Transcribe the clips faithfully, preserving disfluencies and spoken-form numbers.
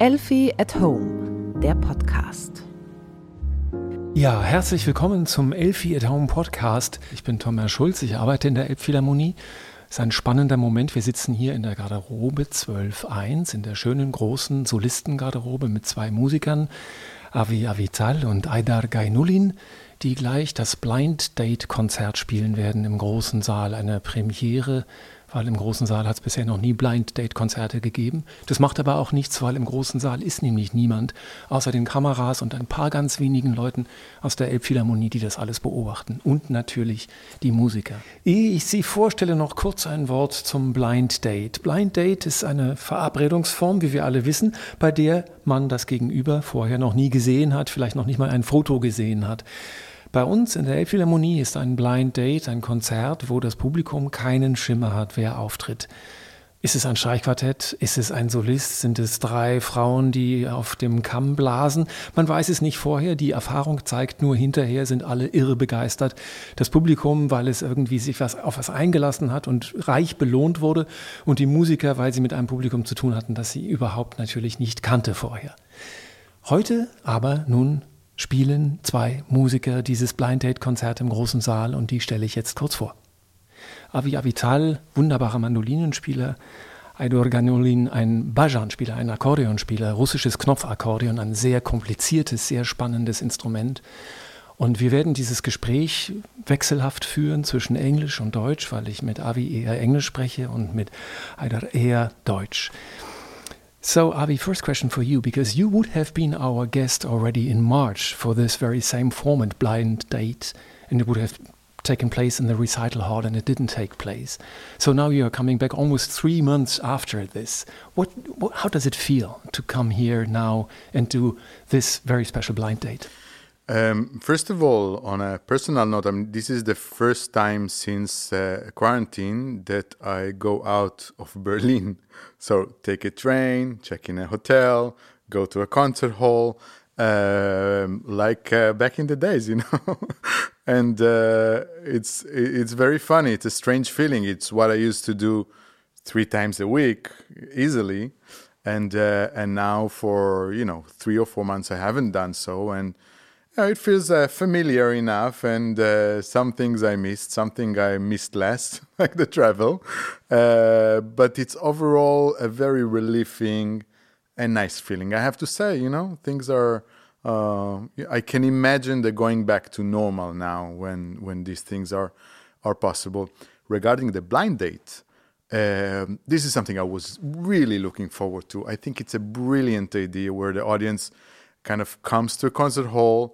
Elfi at Home, der Podcast. Ja, herzlich willkommen zum Elfi at Home Podcast. Ich bin Thomas Schulz, ich arbeite in der Elbphilharmonie. Es ist ein spannender Moment. Wir sitzen hier in der Garderobe zwölf eins, in der schönen großen Solistengarderobe mit zwei Musikern, Avi Avital und Aydar Gaynulin, die gleich das Blind Date Konzert spielen werden im großen Saal, eine Premiere, weil im großen Saal hat es bisher noch nie Blind Date Konzerte gegeben. Das macht aber auch nichts, weil im großen Saal ist nämlich niemand, außer den Kameras und ein paar ganz wenigen Leuten aus der Elbphilharmonie, die das alles beobachten. Und natürlich die Musiker. Ehe ich Sie vorstelle, noch kurz ein Wort zum Blind Date. Blind Date ist eine Verabredungsform, wie wir alle wissen, bei der man das Gegenüber vorher noch nie gesehen hat, vielleicht noch nicht mal ein Foto gesehen hat. Bei uns in der Elbphilharmonie ist ein Blind Date ein Konzert, wo das Publikum keinen Schimmer hat, wer auftritt. Ist es ein Streichquartett? Ist es ein Solist? Sind es drei Frauen, die auf dem Kamm blasen? Man weiß es nicht vorher. Die Erfahrung zeigt nur, hinterher sind alle irre begeistert. Das Publikum, weil es irgendwie sich was, auf was eingelassen hat und reich belohnt wurde. Und die Musiker, weil sie mit einem Publikum zu tun hatten, das sie überhaupt natürlich nicht kannte vorher. Heute aber nun spielen zwei Musiker dieses Blind Date Konzert im großen Saal und die stelle ich jetzt kurz vor. Avi Avital, wunderbarer Mandolinenspieler, Aydar Gaynulin, ein Bajan-Spieler, ein Akkordeonspieler, russisches Knopfakkordeon, ein sehr kompliziertes, sehr spannendes Instrument. Und wir werden dieses Gespräch wechselhaft führen zwischen Englisch und Deutsch, weil ich mit Avi eher Englisch spreche und mit Aydar eher Deutsch. So, Avi, first question for you, because you would have been our guest already in March for this very same format, Blind Date, and it would have taken place in the recital hall and it didn't take place. So now you are coming back almost three months after this. What, what, how does it feel to come here now and do this very special blind date? Um, first of all, on a personal note, I mean, this is the first time since uh, quarantine that I go out of Berlin. So take a train, check in a hotel, go to a concert hall, um, like uh, back in the days, you know. and uh, it's it's very funny. It's a strange feeling. It's what I used to do three times a week easily, and uh, and now for you know three or four months I haven't done so, and Uh, it feels uh, familiar enough, and uh, some things I missed, something I missed less, like the travel. Uh, but it's overall a very relieving and nice feeling, I have to say, you know. Things are, uh, I can imagine they're going back to normal now when, when these things are, are possible. Regarding the blind date, um, this is something I was really looking forward to. I think it's a brilliant idea where the audience kind of comes to a concert hall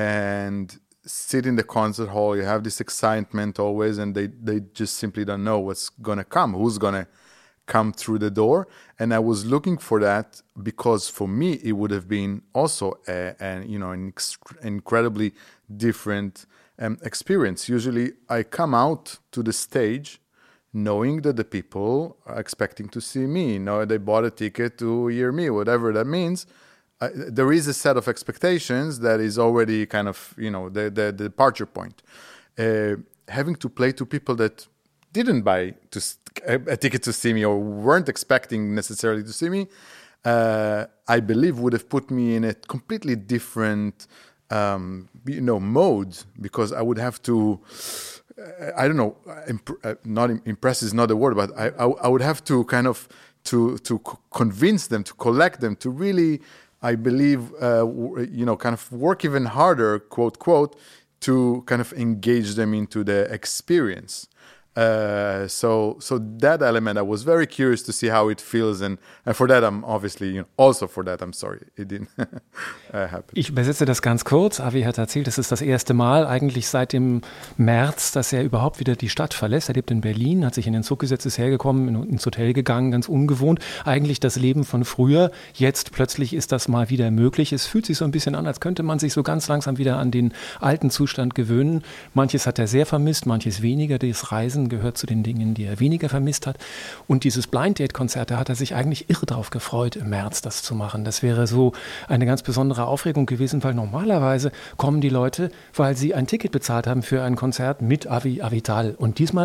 and sit in the concert hall. You have this excitement always, and they, they just simply don't know what's going to come, who's going to come through the door. And I was looking for that because for me, it would have been also a, a, you know, an ex- incredibly different um, experience. Usually I come out to the stage knowing that the people are expecting to see me, you know, they bought a ticket to hear me, whatever that means. Uh, there is a set of expectations that is already kind of, you know, the, the, the departure point. Uh, having to play to people that didn't buy to, a, a ticket to see me or weren't expecting necessarily to see me, uh, I believe would have put me in a completely different, um, you know, mode, because I would have to, uh, I don't know, imp- uh, not impress is not the word, but I, I, I would have to kind of to to convince them, to collect them, to really, I believe, uh, you know, kind of work even harder, quote, quote, to kind of engage them into the experience. Uh, so so that element, I was very curious to see how it feels, and, and for that I'm obviously, you know, also for that I'm sorry it didn't uh, happen. Ich übersetze das ganz kurz. Avi hat erzählt, es ist das erste Mal eigentlich seit dem März, dass er überhaupt wieder die Stadt verlässt. Er lebt in Berlin, hat sich in den Zug gesetzt, ist hergekommen, ins Hotel gegangen, ganz ungewohnt. Eigentlich das Leben von früher. Jetzt plötzlich ist das mal wieder möglich. Es fühlt sich so ein bisschen an, als könnte man sich so ganz langsam wieder an den alten Zustand gewöhnen. Manches hat er sehr vermisst, manches weniger. Das Reisen gehört zu den Dingen, die er weniger vermisst hat. Und dieses Blind Date Konzert, da hat er sich eigentlich irre drauf gefreut, im März das zu machen. Das wäre so eine ganz besondere Aufregung gewesen, weil normalerweise kommen die Leute, weil sie ein Ticket bezahlt haben für ein Konzert mit Avi Avital. Und diesmal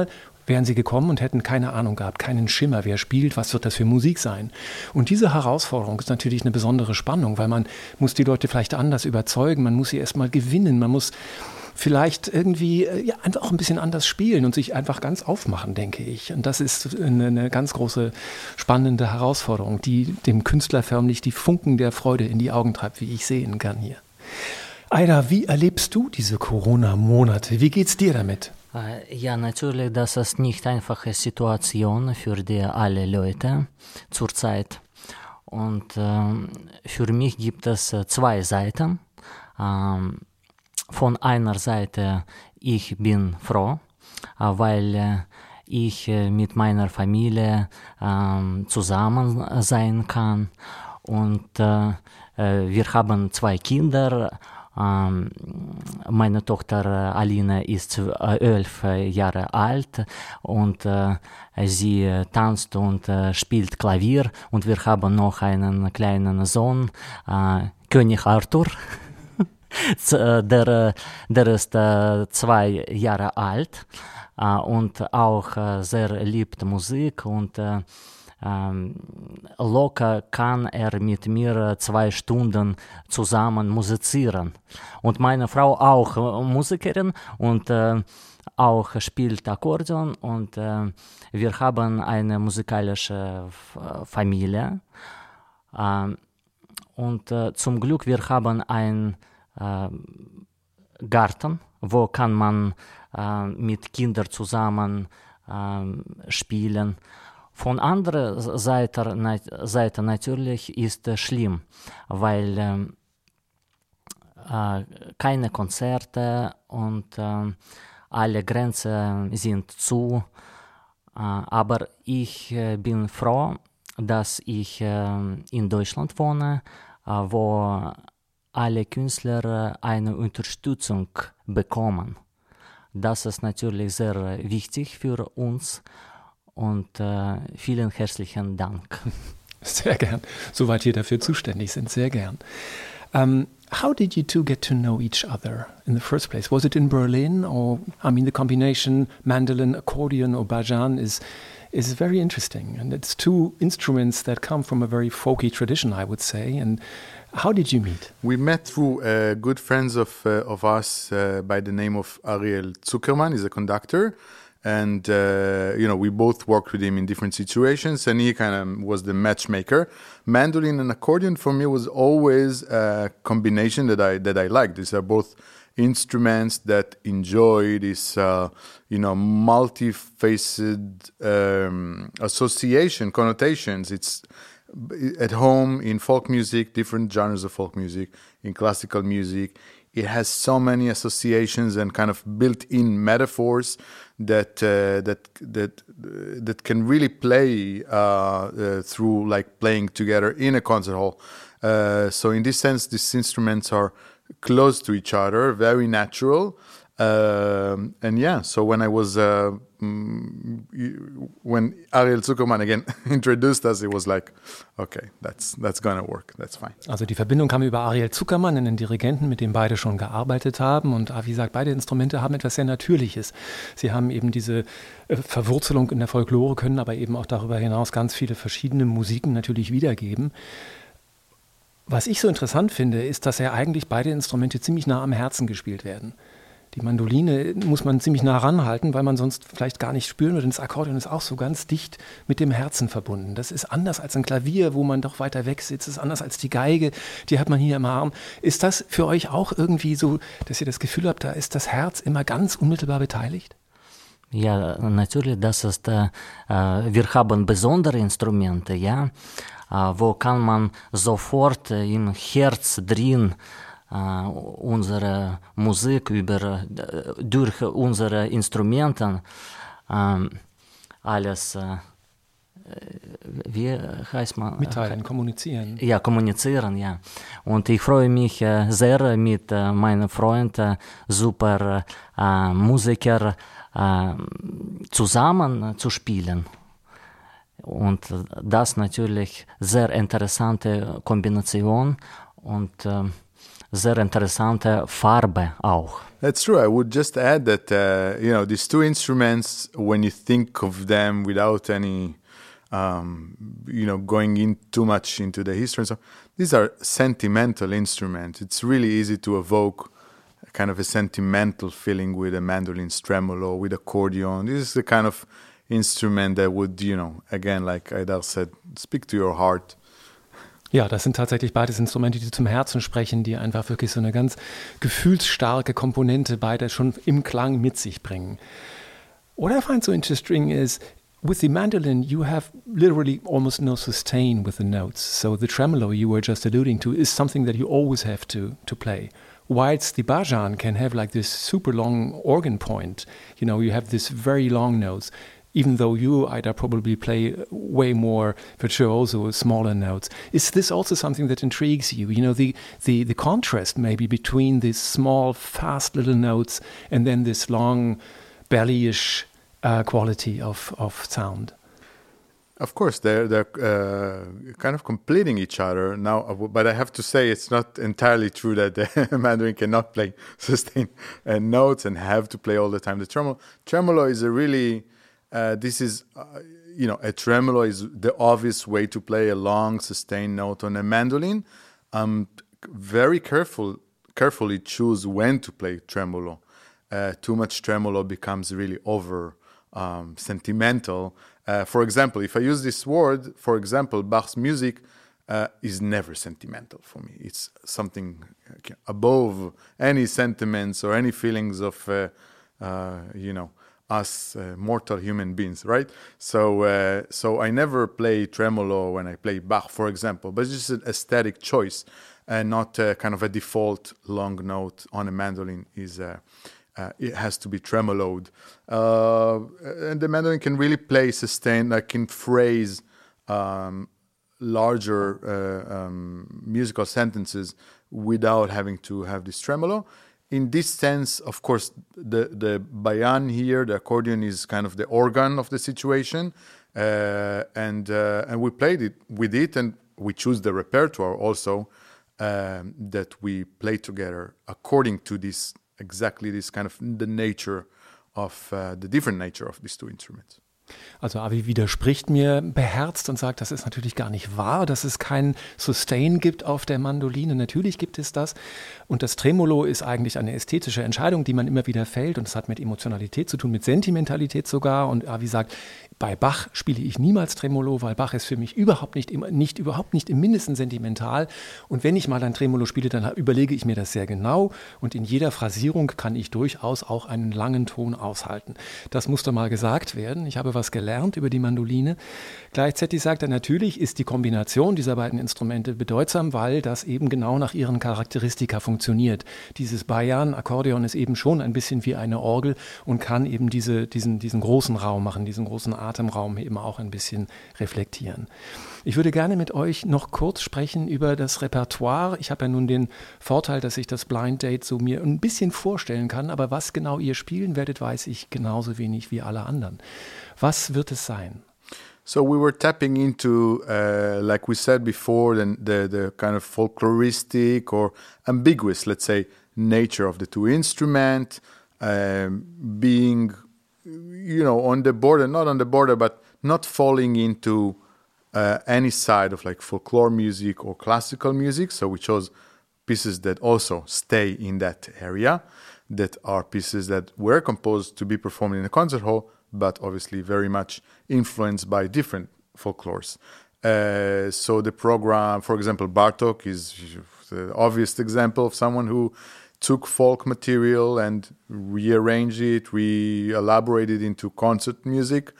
wären sie gekommen und hätten keine Ahnung gehabt, keinen Schimmer, wer spielt, was wird das für Musik sein. Und diese Herausforderung ist natürlich eine besondere Spannung, weil man muss die Leute vielleicht anders überzeugen, man muss sie erstmal gewinnen, man muss vielleicht irgendwie ja, einfach auch ein bisschen anders spielen und sich einfach ganz aufmachen, denke ich. Und das ist eine, eine ganz große, spannende Herausforderung, die dem Künstler förmlich die Funken der Freude in die Augen treibt, wie ich sehen kann hier. Aida, wie erlebst du diese Corona-Monate? Wie geht's dir damit? Ja, natürlich, das ist nicht einfache Situation für die alle Leute zurzeit. Und äh, für mich gibt es zwei Seiten. Ähm, Von einer Seite, ich bin froh, weil ich mit meiner Familie zusammen sein kann. Und wir haben zwei Kinder. Meine Tochter Alina ist elf Jahre alt und sie tanzt und spielt Klavier. Und wir haben noch einen kleinen Sohn, König Arthur. Der, der ist äh, zwei Jahre alt äh, und auch äh, sehr liebt Musik und äh, äh, locker kann er mit mir zwei Stunden zusammen musizieren. Und meine Frau auch äh, Musikerin und äh, auch spielt Akkordeon und äh, wir haben eine musikalische F- Familie äh, und äh, zum Glück wir haben ein Äh, Garten, wo kann man äh, mit Kindern zusammen äh, spielen. Von anderer Seite, na, Seite natürlich ist es schlimm, weil äh, äh, keine Konzerte und äh, alle Grenzen sind zu. Äh, aber ich äh, bin froh, dass ich äh, in Deutschland wohne, äh, wo alle Künstler eine Unterstützung bekommen. Das ist natürlich sehr wichtig für uns und äh, vielen herzlichen Dank. Sehr gern. Soweit wir dafür zuständig sind, sehr gern. Um, how did you two get to know each other in the first place? Was it in Berlin or, I mean, the combination mandolin, accordion or bajan is is very interesting. And it's two instruments that come from a very folky tradition, I would say. And how did you meet? We met through uh, good friends of uh, of us uh, by the name of Ariel Zuckerman. He's a conductor, and uh, you know we both worked with him in different situations, and he kind of was the matchmaker. Mandolin and accordion for me was always a combination that I that I liked. These are both instruments that enjoy this, uh, you know, multifaceted um, association, connotations. It's at home in folk music, different genres of folk music, in classical music. It has so many associations and kind of built-in metaphors that uh, that that uh, that can really play uh, uh, through, like playing together in a concert hall. Uh, so in this sense, these instruments are close to each other, very natural. Um, and yeah, so when I was, uh, when Ariel Zuckerman again introduced us, it was like, okay, that's that's gonna work, that's fine. Also die Verbindung kam über Ariel Zuckerman, einen Dirigenten, mit dem beide schon gearbeitet haben. Und wie gesagt, beide Instrumente haben etwas sehr Natürliches. Sie haben eben diese Verwurzelung in der Folklore, können aber eben auch darüber hinaus ganz viele verschiedene Musiken natürlich wiedergeben. Was ich so interessant finde, ist, dass ja eigentlich beide Instrumente ziemlich nah am Herzen gespielt werden. Die Mandoline muss man ziemlich nah ranhalten, weil man sonst vielleicht gar nicht spüren würde. Und das Akkordeon ist auch so ganz dicht mit dem Herzen verbunden. Das ist anders als ein Klavier, wo man doch weiter weg sitzt. Das ist anders als die Geige, die hat man hier im Arm. Ist das für euch auch irgendwie so, dass ihr das Gefühl habt, da ist das Herz immer ganz unmittelbar beteiligt? Ja, natürlich, das ist, äh, wir haben besondere Instrumente, ja, äh, wo kann man sofort äh, im Herz drin Uh, unsere Musik über, uh, durch unsere Instrumente um, alles, uh, wie heißt man? Mitteilen, kommunizieren. Ja, kommunizieren, ja. Und ich freue mich uh, sehr, mit uh, meinem Freund, uh, super uh, Musiker, uh, zusammen uh, zu spielen. Und uh, das natürlich sehr interessante Kombination und uh, sehr interessante Farbe auch. That's true. I would just add that, uh, you know, these two instruments, when you think of them without any, um, you know, going in too much into the history, so these are sentimental instruments. It's really easy to evoke kind of a sentimental feeling with a mandolin's tremolo, with accordion. This is the kind of instrument that would, you know, again, like Aidar said, speak to your heart. Ja, das sind tatsächlich beides Instrumente, die zum Herzen sprechen, die einfach wirklich so eine ganz gefühlsstarke Komponente beide schon im Klang mit sich bringen. What I find so interesting is with the mandolin, you have literally almost no sustain with the notes. So the tremolo you were just alluding to is something that you always have to, to play. Whilst the bajan can have like this super long organ point, you know, you have this very long notes, even though you, Ida, probably play way more virtuoso, smaller notes. Is this also something that intrigues you? You know, the, the, the contrast maybe between these small, fast little notes and then this long, bellyish uh, quality of, of sound. Of course, they're they're uh, kind of completing each other now. But I have to say, it's not entirely true that the mandoline cannot play sustained uh, notes and have to play all the time the tremolo. Tremolo is a really uh, this is uh, you know a tremolo is the obvious way to play a long sustained note on a mandolin. Um, very careful, carefully choose when to play tremolo. Uh, too much tremolo becomes really over um, sentimental. Uh, for example, if I use this word, for example, Bach's music uh, is never sentimental for me. It's something above any sentiments or any feelings of, uh, uh, you know, us uh, mortal human beings, right? So, uh, so I never play tremolo when I play Bach, for example, but it's just an aesthetic choice and not uh, kind of a default long note on a mandolin is... Uh, Uh, it has to be tremoloed. Uh, and the mandolin can really play sustained, like can phrase um, larger uh, um, musical sentences without having to have this tremolo. In this sense, of course, the, the bayan here, the accordion is kind of the organ of the situation. Uh, and, uh, and we played it with it and we choose the repertoire also um, that we play together according to this exactly this kind of the nature of uh, the different nature of these two instruments. Also Avi widerspricht mir beherzt und sagt, das ist natürlich gar nicht wahr, dass es kein Sustain gibt auf der Mandoline. Natürlich gibt es das. Und das Tremolo ist eigentlich eine ästhetische Entscheidung, die man immer wieder fällt. Und es hat mit Emotionalität zu tun, mit Sentimentalität sogar. Und Avi sagt, bei Bach spiele ich niemals Tremolo, weil Bach ist für mich überhaupt nicht, nicht, überhaupt nicht im Mindesten sentimental. Und wenn ich mal ein Tremolo spiele, dann überlege ich mir das sehr genau. Und in jeder Phrasierung kann ich durchaus auch einen langen Ton aushalten. Das muss doch mal gesagt werden. Ich habe was gelernt über die Mandoline. Gleichzeitig sagt er, natürlich ist die Kombination dieser beiden Instrumente bedeutsam, weil das eben genau nach ihren Charakteristika funktioniert. Dieses Bayan-Akkordeon ist eben schon ein bisschen wie eine Orgel und kann eben diese, diesen, diesen großen Raum machen, diesen großen Atemraum eben auch ein bisschen reflektieren. Ich würde gerne mit euch noch kurz sprechen über das Repertoire. Ich habe ja nun den Vorteil, dass ich das Blind Date so mir ein bisschen vorstellen kann, aber was genau ihr spielen werdet, weiß ich genauso wenig wie alle anderen. Was wird es sein? So we were tapping into, uh, like we said before, the, the, the kind of folkloristic or ambiguous, let's say, nature of the two instruments, um, being, you know, on the border, not on the border, but not falling into uh, any side of like folklore music or classical music. So we chose pieces that also stay in that area, that are pieces that were composed to be performed in a concert hall, but obviously very much influenced by different folklores. Uh, so the program, for example, Bartók is the obvious example of someone who took folk material and rearranged it, re-elaborated into concert music.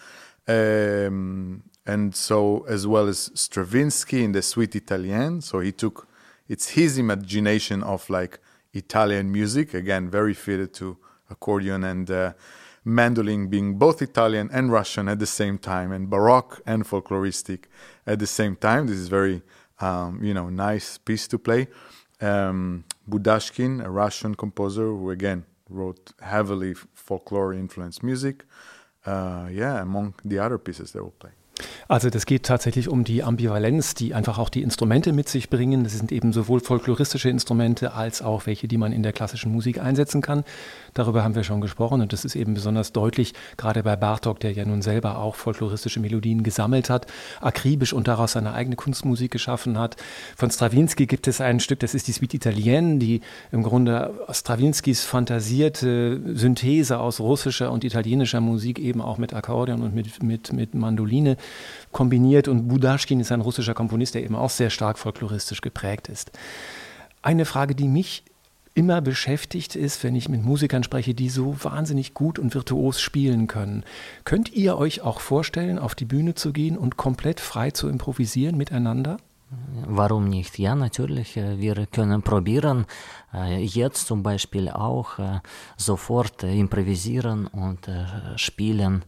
Um, and so, as well as Stravinsky in the Suite Italienne. So he took, it's his imagination of like Italian music, again, very fitted to accordion and uh, mandolin, being both Italian and Russian at the same time, and Baroque and folkloristic at the same time. This is very, um, you know, nice piece to play. Um, Budashkin, a Russian composer who, again, wrote heavily folklore-influenced music. Uh, yeah, among the other pieces they will play. Also das geht tatsächlich um die Ambivalenz, die einfach auch die Instrumente mit sich bringen. Das sind eben sowohl folkloristische Instrumente als auch welche, die man in der klassischen Musik einsetzen kann. Darüber haben wir schon gesprochen und das ist eben besonders deutlich, gerade bei Bartók, der ja nun selber auch folkloristische Melodien gesammelt hat, akribisch und daraus seine eigene Kunstmusik geschaffen hat. Von Stravinsky gibt es ein Stück, das ist die Suite Italienne, die im Grunde Strawinskys fantasierte Synthese aus russischer und italienischer Musik eben auch mit Akkordeon und mit, mit, mit Mandoline kombiniert, und Budaschkin ist ein russischer Komponist, der eben auch sehr stark folkloristisch geprägt ist. Eine Frage, die mich immer beschäftigt ist, wenn ich mit Musikern spreche, die so wahnsinnig gut und virtuos spielen können. Könnt ihr euch auch vorstellen, auf die Bühne zu gehen und komplett frei zu improvisieren miteinander? Warum nicht? Ja, natürlich. Wir können probieren, jetzt zum Beispiel auch sofort improvisieren und spielen.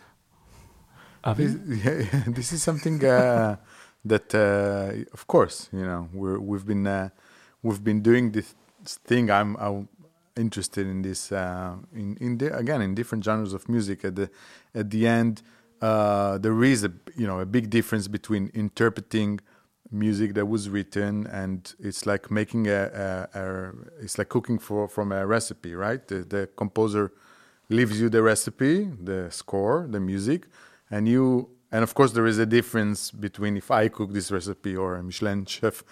This, yeah, this is something uh, that, uh, of course, you know, we're, we've been uh, we've been doing this thing. I'm, I'm interested in this. Uh, in in the, again in different genres of music. At the at the end, uh, there is a you know a big difference between interpreting music that was written, and it's like making a, a, a it's like cooking for from a recipe, right? The, the composer leaves you the recipe, the score, the music. And you, and of course, there is a difference between if I cook this recipe or a Michelin chef.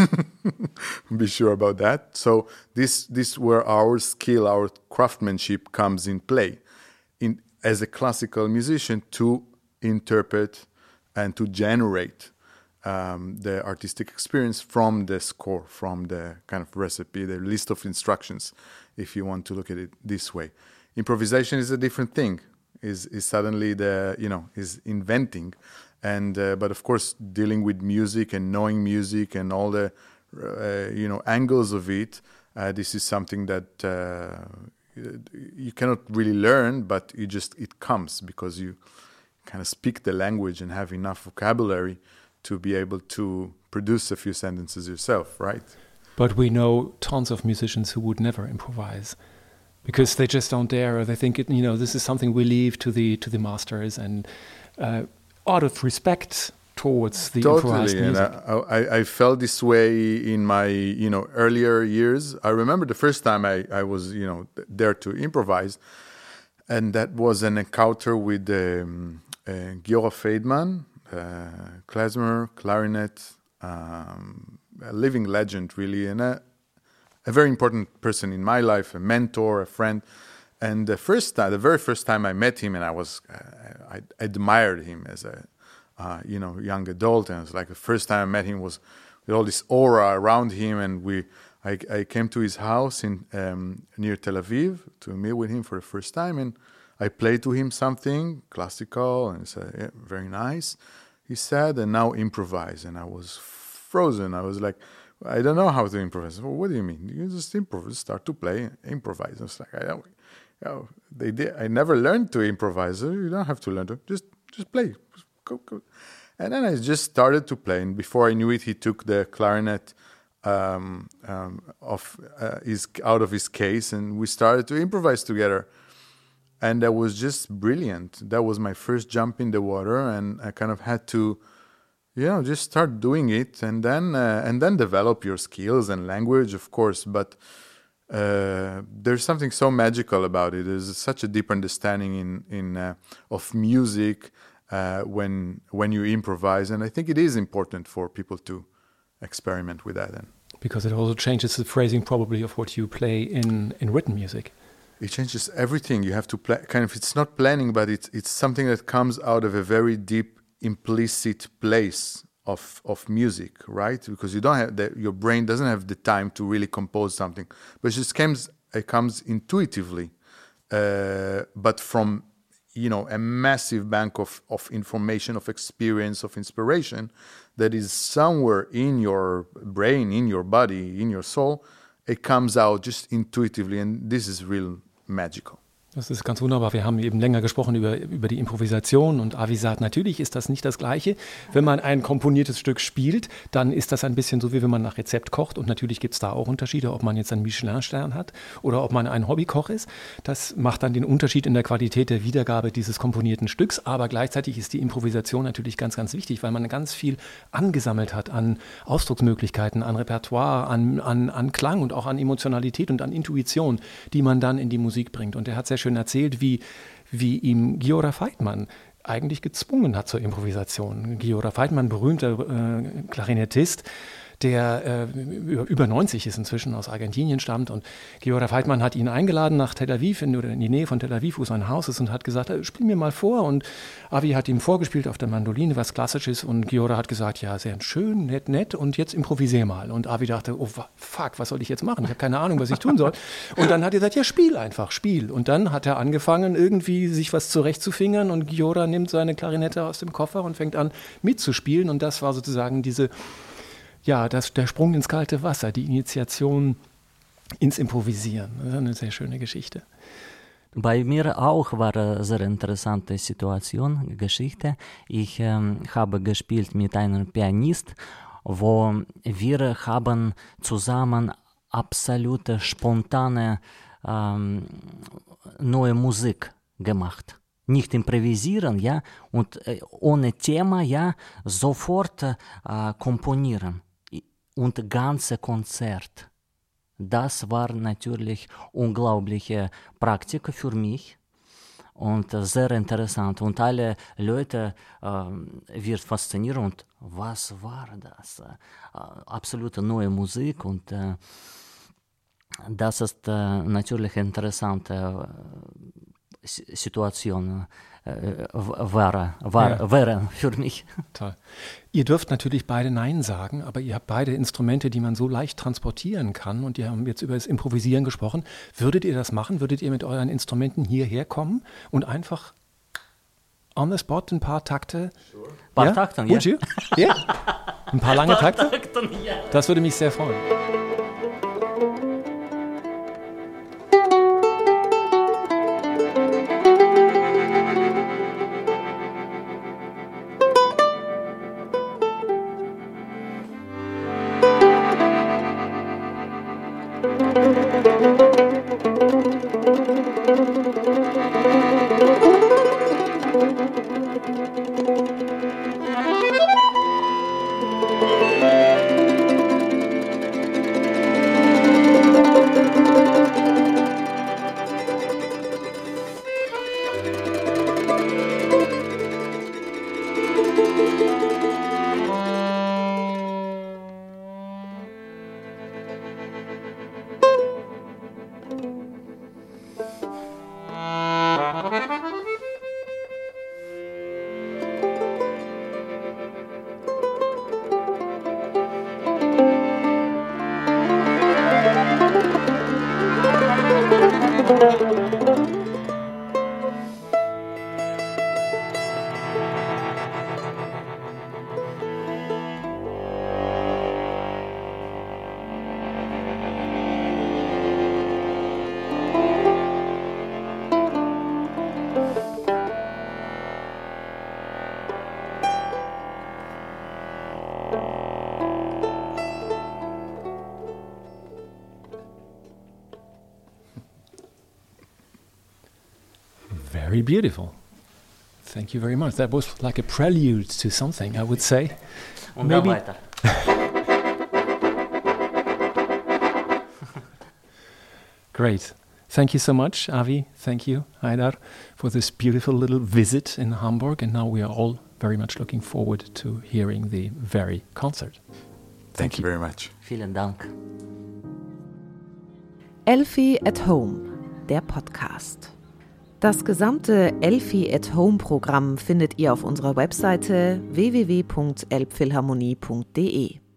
Be sure about that. So this, this where our skill, our craftsmanship comes in play, in as a classical musician to interpret and to generate um, the artistic experience from the score, from the kind of recipe, the list of instructions, if you want to look at it this way. Improvisation is a different thing. Is, is suddenly the, you know, is inventing. And, uh, but of course, dealing with music and knowing music and all the, uh, you know, angles of it, uh, this is something that uh, you cannot really learn, but you just, it comes because you kind of speak the language and have enough vocabulary to be able to produce a few sentences yourself, right? But we know tons of musicians who would never improvise, because they just don't dare, or they think it, you know, this is something we leave to the to the masters, and uh, out of respect towards the totally, improvised music. And I, I, I felt this way in my you know earlier years. I remember the first time I, I was you know there to improvise, and that was an encounter with um, uh, Giora Feidman, uh, klezmer, clarinet, um, a living legend really, and a a very important person in my life, a mentor, a friend. And the first time, the very first time I met him, and I was, uh, I admired him as a, uh, you know, young adult. And it was like the first time I met him was with all this aura around him. And we, I, I came to his house in um, near Tel Aviv to meet with him for the first time. And I played to him something classical, and he said, yeah, very nice, he said, and now improvise. And I was frozen. I was like, I don't know how to improvise. Well, what do you mean? You just improvise, start to play, improvise. I was like, I don't, you know, they did. I never learned to improvise. You don't have to learn to just just play. Go, go. And then I just started to play. And before I knew it, he took the clarinet um, um, off uh, his out of his case, and we started to improvise together. And that was just brilliant. That was my first jump in the water, and I kind of had to. You know, just start doing it, and then uh, and then develop your skills and language, of course. But uh, there's something so magical about it. There's such a deep understanding in in uh, of music uh, when when you improvise, and I think it is important for people to experiment with that. And because it also changes the phrasing probably of what you play in in written music. It changes everything. You have to play. Kind of, it's not planning, but it's it's something that comes out of a very deep, implicit place of of music, right? Because you don't have the, your brain doesn't have the time to really compose something, but it just comes it comes intuitively, uh, but from you know a massive bank of of information, of experience, of inspiration that is somewhere in your brain, in your body, in your soul. It comes out just intuitively, and this is real magical. Das ist ganz wunderbar. Wir haben eben länger gesprochen über, über die Improvisation und Avi sagt, natürlich ist das nicht das Gleiche. Wenn man ein komponiertes Stück spielt, dann ist das ein bisschen so, wie wenn man nach Rezept kocht. Und natürlich gibt es da auch Unterschiede, ob man jetzt einen Michelin-Stern hat oder ob man ein Hobbykoch ist. Das macht dann den Unterschied in der Qualität der Wiedergabe dieses komponierten Stücks. Aber gleichzeitig ist die Improvisation natürlich ganz, ganz wichtig, weil man ganz viel angesammelt hat an Ausdrucksmöglichkeiten, an Repertoire, an, an, an Klang und auch an Emotionalität und an Intuition, die man dann in die Musik bringt. Und er hat sehr schön erzählt, wie, wie ihm Giora Feitmann eigentlich gezwungen hat zur Improvisation. Giora Feitmann, berühmter äh, Klarinettist, der äh, über neunzig ist inzwischen, aus Argentinien stammt. Und Giora Feitmann hat ihn eingeladen nach Tel Aviv, in, oder in die Nähe von Tel Aviv, wo sein Haus ist, und hat gesagt, spiel mir mal vor. Und Avi hat ihm vorgespielt auf der Mandoline, was Klassisches. Und Giora hat gesagt, ja, sehr schön, nett, nett. Und jetzt improvisier mal. Und Avi dachte, oh fuck, was soll ich jetzt machen? Ich habe keine Ahnung, was ich tun soll. Und dann hat er gesagt, ja, spiel einfach, spiel. Und dann hat er angefangen, irgendwie sich was zurechtzufingern. Und Giora nimmt seine Klarinette aus dem Koffer und fängt an mitzuspielen. Und das war sozusagen diese... Ja, das, der Sprung ins kalte Wasser, die Initiation ins Improvisieren. Das ist eine sehr schöne Geschichte. Bei mir auch war eine sehr interessante Situation, Geschichte. Ich ähm, habe gespielt mit einem Pianist, wo wir haben zusammen absolute spontane ähm, neue Musik gemacht. Nicht improvisieren, ja, und äh, ohne Thema, ja, sofort äh, komponieren. Und ganze Konzert. Das war natürlich unglaubliche Praktik für mich und sehr interessant. Und alle Leute äh, wird faszinieren. Und was war das? Äh, absolute neue Musik. Und äh, das ist äh, natürlich eine interessante äh, Situation. Wäre, war, ja. wäre für mich. Toll. Ihr dürft natürlich beide Nein sagen, aber ihr habt beide Instrumente, die man so leicht transportieren kann, und ihr habt jetzt über das Improvisieren gesprochen. Würdet ihr das machen? Würdet ihr mit euren Instrumenten hierher kommen und einfach on the spot ein paar Takte? Sure. Ein paar ja? Takte, ja. Would you? Yeah? Ein paar lange Takte? Takten, ja. Das würde mich sehr freuen. Very beautiful. Thank you very much. That was like a prelude to something, I would say. Und Maybe. Dann weiter. Great. Thank you so much, Avi. Thank you, Haidar, for this beautiful little visit in Hamburg. And now we are all very much looking forward to hearing the very concert. Thank, Thank you very much. Vielen Dank. Elfi at Home, der Podcast. Das gesamte Elfi at Home Programm findet ihr auf unserer Webseite w w w punkt elbphilharmonie punkt d e.